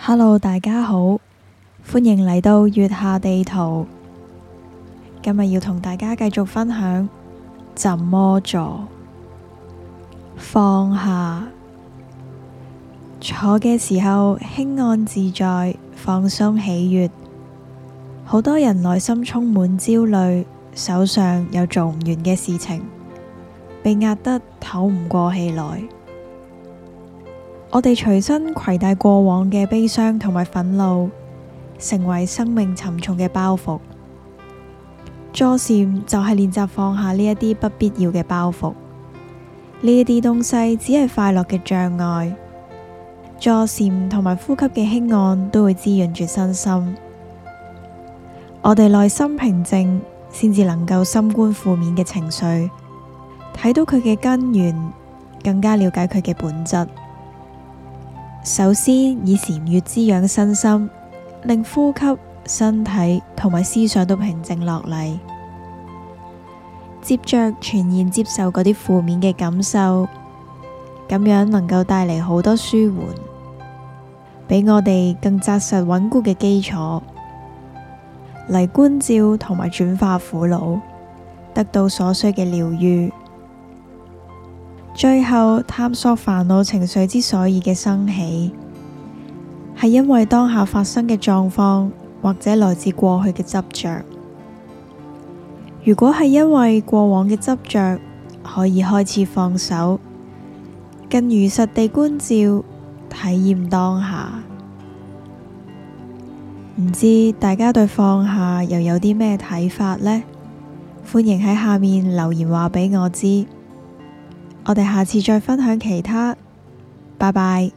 Hello，大家好，歡迎嚟到月下地圖。今日要同大家繼續分享怎麼坐。放下，坐嘅時候輕安自在，放鬆喜悅。好多人內心充滿焦慮，手上有做唔完嘅事情，被壓得唞唔過氣來。我哋隨身攜帶過往嘅悲傷同埋憤怒，成為生命沉重嘅包袱。坐禪就係練習放下呢一啲不必要嘅包袱，呢一啲東西只係快樂嘅障礙。坐禪同埋呼吸嘅輕按都會滋潤住身心。我哋內心平靜，先至能夠深觀負面嘅情緒，睇到佢嘅根源，更加了解佢嘅本質。首先以禪悅滋養身心，令呼吸、身體同埋思想都平靜落嚟。接着全然接受嗰啲負面嘅感受，咁樣能夠帶嚟好多舒緩，俾我哋更紮實穩固嘅基礎嚟觀照同埋轉化苦惱，得到所需嘅療癒。最後探索煩惱情緒之所以嘅生起，係因為當下發生嘅狀況，或者來自過去嘅執着。如果係因為過往嘅執着，可以開始放手，更如實地觀照，體驗當下。唔知大家對放下又有啲咩睇法呢？歡迎喺下面留言話俾我知。我哋下次再分享其他，拜拜。